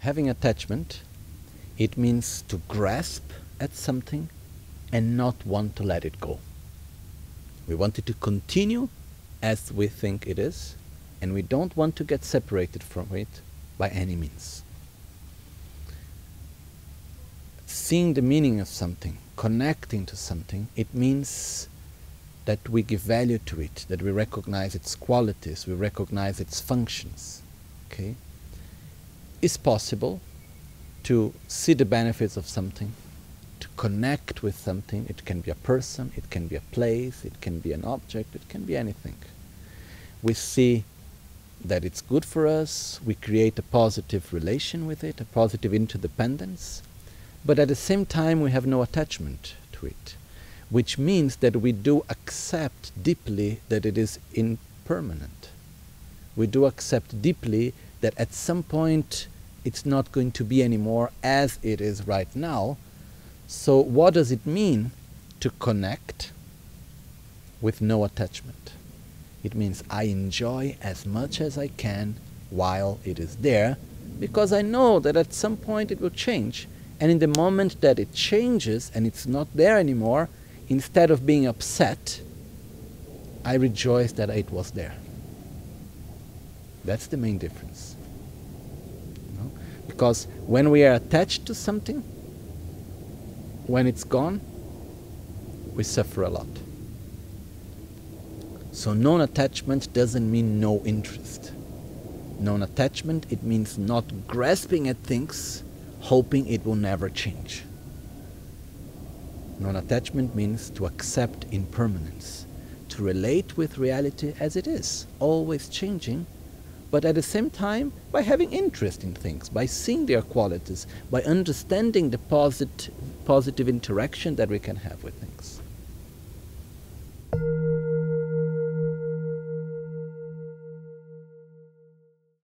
Having attachment, it means to grasp at something and not want to let it go. We want it to continue as we think it is, and we don't want to get separated from it by any means. Seeing the meaning of something, connecting to something, it means that we give value to it, that we recognize its qualities, we recognize its functions. Okay? It's possible to see the benefits of something, to connect with something. It can be a person, it can be a place, it can be an object, it can be anything. We see that it's good for us, we create a positive relation with it, a positive interdependence, but at the same time we have no attachment to it, which means that we do accept deeply that it is impermanent. We do accept deeply that at some point it's not going to be anymore as it is right now. So what does it mean to connect with no attachment? It means I enjoy as much as I can while it is there, because I know that at some point it will change. And in the moment that it changes and it's not there anymore, instead of being upset, I rejoice that it was there. That's the main difference. You know? Because when we are attached to something, when it's gone, we suffer a lot. So non-attachment doesn't mean no interest. Non-attachment, it means not grasping at things, hoping it will never change. Non-attachment means to accept impermanence, to relate with reality as it is, always changing, but at the same time by having interest in things, by seeing their qualities, by understanding the positive interaction that we can have with things.